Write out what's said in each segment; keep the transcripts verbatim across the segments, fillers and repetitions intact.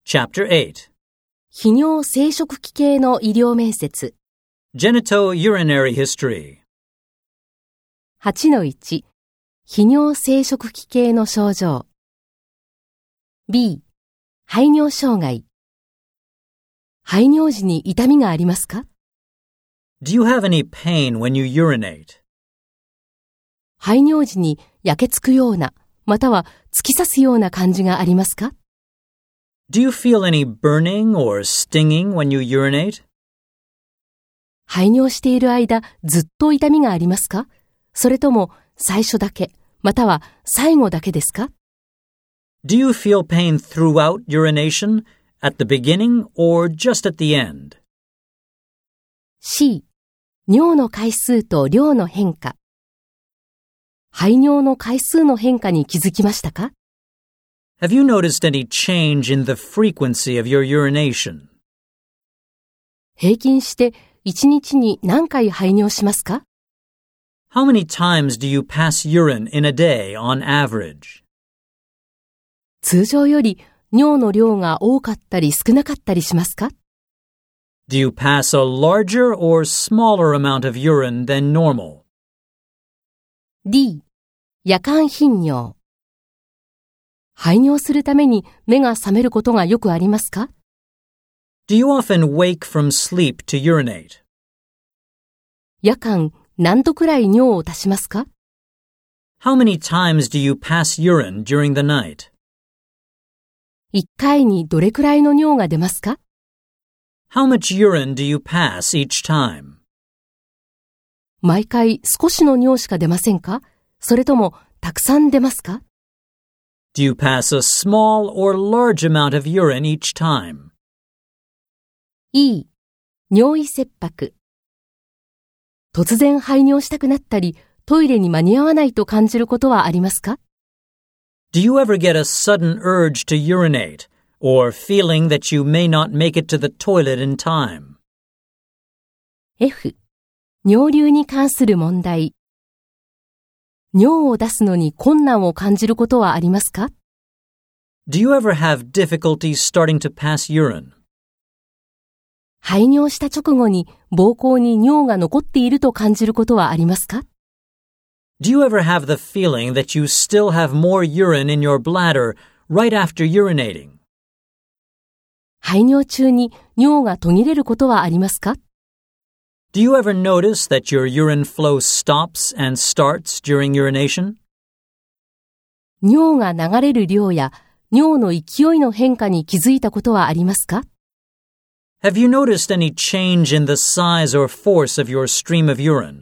Chapter eight. 泌尿生殖器系の医療面接。 Genitourinary history. はちのいち、泌尿生殖器系の症状。B、排尿障害。排尿時に痛みがありますか？ Do you have any pain when you urinate? 排尿時に焼けつくような、または突き刺すような感じがありますか？ Do you feel any burning or stinging when you urinate? 排尿している間、ずっと痛みがありますか？それとも最初だけ、または最後だけですか？ Do you feel pain throughout urination, at the beginning, or just at the end? C、尿の回数と量の変化。排尿の回数の変化に気づきましたか？ Have you noticed any change in the frequency of your urination? 平均していちにちに何回排尿しますか？ How many times do you pass urine in a day on average? 通常より尿の量が多かったり少なかったりしますか？ Do you pass a larger or smaller amount of urine than normal? D、夜間頻尿。排尿するために目が覚めることがよくありますか？ Do you often wake from sleep to urinate? 夜間何度くらい尿を足しますか？ How many times do you pass urine during the night? いっかいにどれくらいの尿が出ますか？ How much urine do you pass each time? 毎回少しの尿しか出ませんか？それともたくさん出ますか？ Do you pass a small or large amount of urine each time? E、尿意切迫。突然排尿したくなったり、トイレに間に合わないと感じることはありますか？ Do you ever get a sudden urge to urinate, or feeling that you may not make it to the toilet in time? F、尿流に関する問題。尿を出すのに困難を感じることはありますか？ Do you ever have difficulty starting to pass urine? 排尿した直後に膀胱に尿が残っていると感じることはありますか？ Do you ever have the feeling that you still have more urine in your bladder right after urinating? 排尿中に尿が途切れることはありますか？ Do you ever notice that your urine flow stops and starts during urination? 尿が流れる量や尿の勢いの変化に気づいたことはありますか？ Have you noticed any change in the size or force of your stream of urine?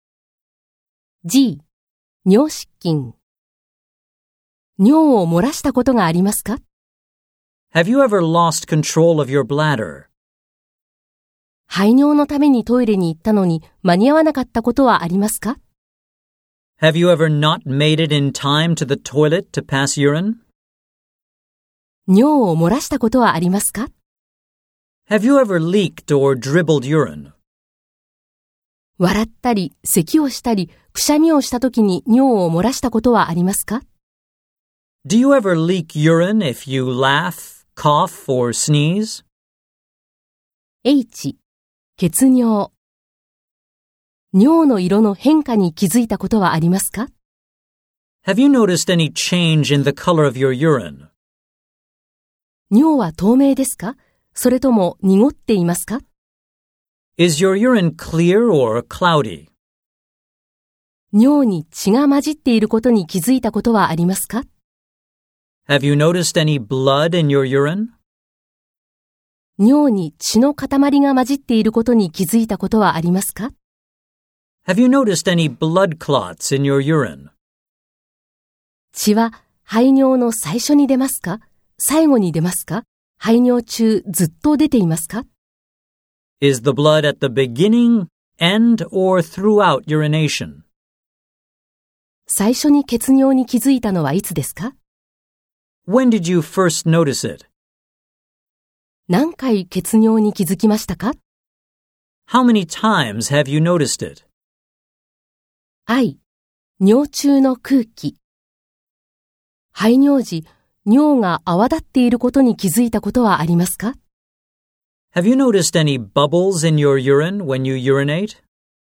G、尿失禁。尿を漏らしたことがありますか？ Have you ever lost control of your bladder? 排尿のためにトイレに行ったのに間に合わなかったことはありますか？ Have you ever not made it in time to the toilet to pass urine? 尿を漏らしたことはありますか？ Have you ever leaked or dribbled urine? 笑ったり、咳をしたり、くしゃみをしたときに尿を漏らしたことはありますか？ Do you ever leak urine if you laugh, cough, or sneeze? H、血尿。尿の色の変化に気づいたことはありますか？ Have you noticed any change in the color of your urine? 尿は透明ですか？それとも濁っていますか？ Is your urine clear or cloudy? 尿に血が混じっていることに気づいたことはありますか？ Have you noticed any blood in your urine? 尿に血の塊が混じっていることに気づいたことはありますか？ Have you noticed any blood clots in your urine? 血は排尿の最初に出ますか？最後に出ますか？排尿中ずっと出ていますか？ Is the blood at the beginning, end, or throughout urination? 最初に血尿に気づいたのはいつですか？ When did you first notice it? 何回血尿に気づきましたか？ How many times have you noticed it? I、尿中の空気。排尿時、 尿が泡立っていることに気づいたことはありますか？ Have you noticed any bubbles in your urine when you urinate?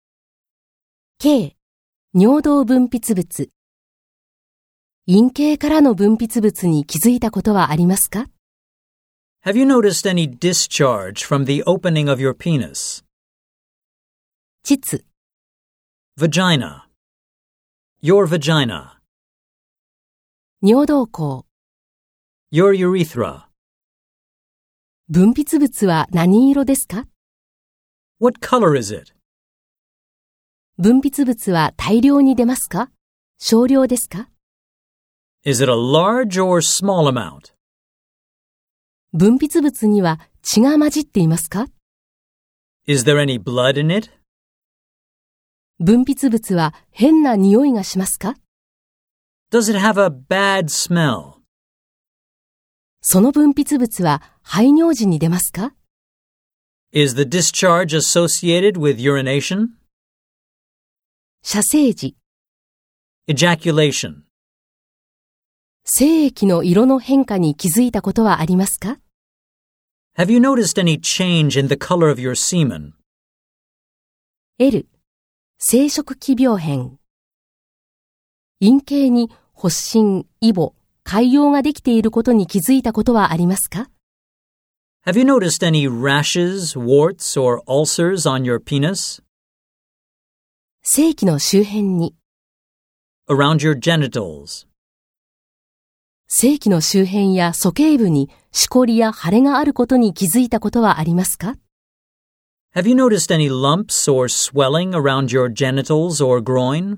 K、尿道分泌物。陰茎からの分泌物に気づいたことはありますか？ Have you noticed any discharge from the opening of your penis? 膣。 Vagina. Your vagina. 尿道口。 Your urethra. 分泌物は何色ですか？ What color is it? 分泌物は大量に出ますか？少量ですか？ Is it a large or small amount? 分泌物には血が混じっていますか？ Is there any blood in it? 分泌物は変な匂いがしますか？ Does it have a bad smell? その分泌物は排尿時に出ますか？ Is the discharge associated with urination? 射精時。 Ejaculation. 精液の色の変化に気づいたことはありますか？ Have you noticed any change in the color of your semen? L、生殖器病変。陰茎に発疹、イボ、潰瘍ができていることに気づいたことはありますか？ Have you noticed any rashes, warts, or ulcers on your penis? 性器の周辺に。 Around your genitals. 性器の周辺や鼠径部にしこりや腫れがあることに気づいたことはありますか？ Have you noticed any lumps or swelling around your genitals or groin?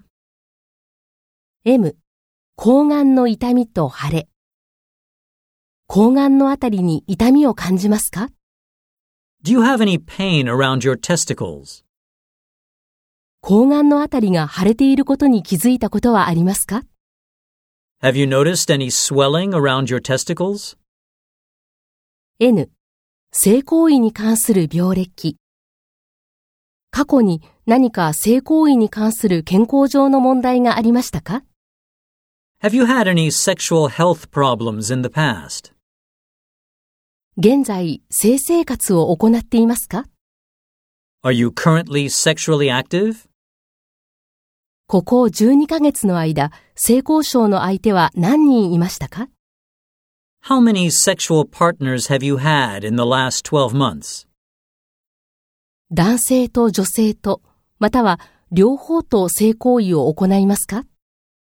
M、睾丸の痛みと腫れ。睾丸のあたりに痛みを感じますか？ Do you have any pain around your testicles? 睾丸のあたりが腫れていることに気づいたことはありますか？ Have you noticed any swelling around your testicles? N、性行為に関する病歴。過去に何か性行為に関する健康上の問題がありましたか？ Have you had any sexual health problems in the past? 現在、性生活を行っていますか？ Are you currently sexually active? ここじゅうにかげつの間、性交渉の相手は何人いましたか？ How many sexual partners have you had in the last twelve months? 男性と女性と、または両方と性行為を行いますか？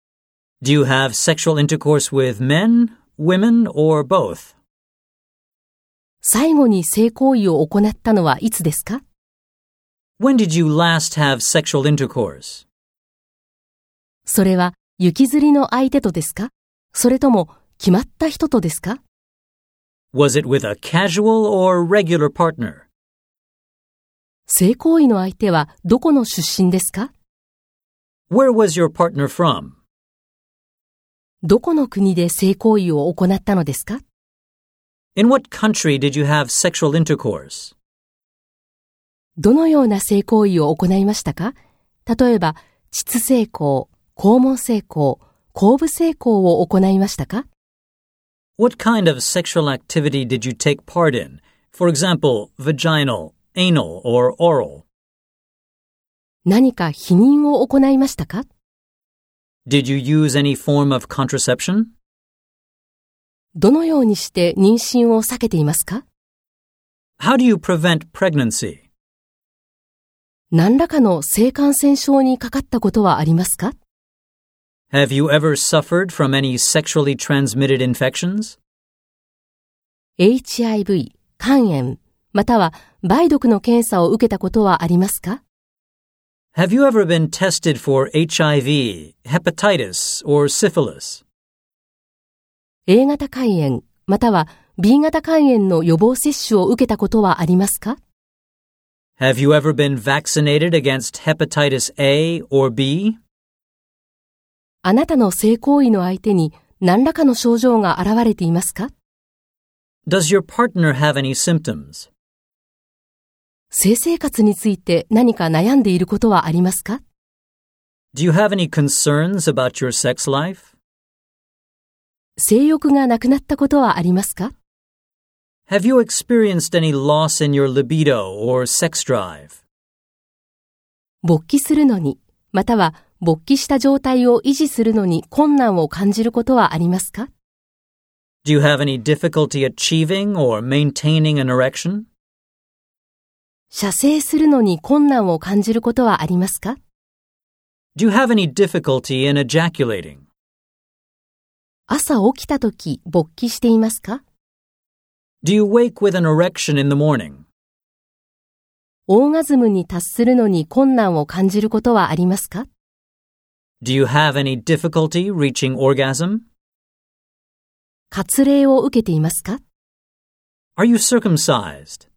Do you have sexual intercourse with men, women, or both? 最後に性行為を行ったのはいつですか？ When did you last have sexual intercourse? それは行きずりの相手とですか？それとも決まった人とですか？ Was it with a casual or regular partner? 性行為の相手はどこの出身ですか？ Where was your partner from? どこの国で性行為を行ったのですか？ In what country did you have sexual intercourse? どのような性行為を行いましたか？例えば、膣性交、肛門性交、後部性交を行いましたか？ What kind of sexual activity did you take part in? For example, vaginal, anal, or oral? 何か避妊を行いましたか？ Did you use any form of contraception? どのようにして妊娠を避けていますか？ How do you prevent pregnancy? 何らかの性感染症にかかったことはありますか？ Have you ever suffered from any sexually transmitted infections? エイチアイブイ、肝炎、または梅毒の検査を受けたことはありますか？ Have you ever been tested forエイチアイブイ, hepatitis, or syphilis? A 型肝炎、または B 型肝炎の予防接種を受けたことはありますか？ Have you ever been vaccinated against hepatitis A or B? あなたの性行為の相手に何らかの症状が現れていますか？ Does your partner have any symptoms? 性生活について何か悩んでいることはありますか？ Do you have any concerns about your sex life? 性欲がなくなったことはありますか？ Have you experienced any loss in your libido or sex drive? 勃起するのに、または勃起した状態を維持するのに困難を感じることはありますか？ Do you have any difficulty achieving or maintaining an erection? 射精するのに困難を感じることはありますか？ Do you have any difficulty in ejaculating? 朝起きたとき勃起していますか？ Do you wake with an erection in the morning? オーガズムに達するのに困難を感じることはありますか？ Do you have any difficulty reaching orgasm? 割礼を受けていますか？ Are you circumcised?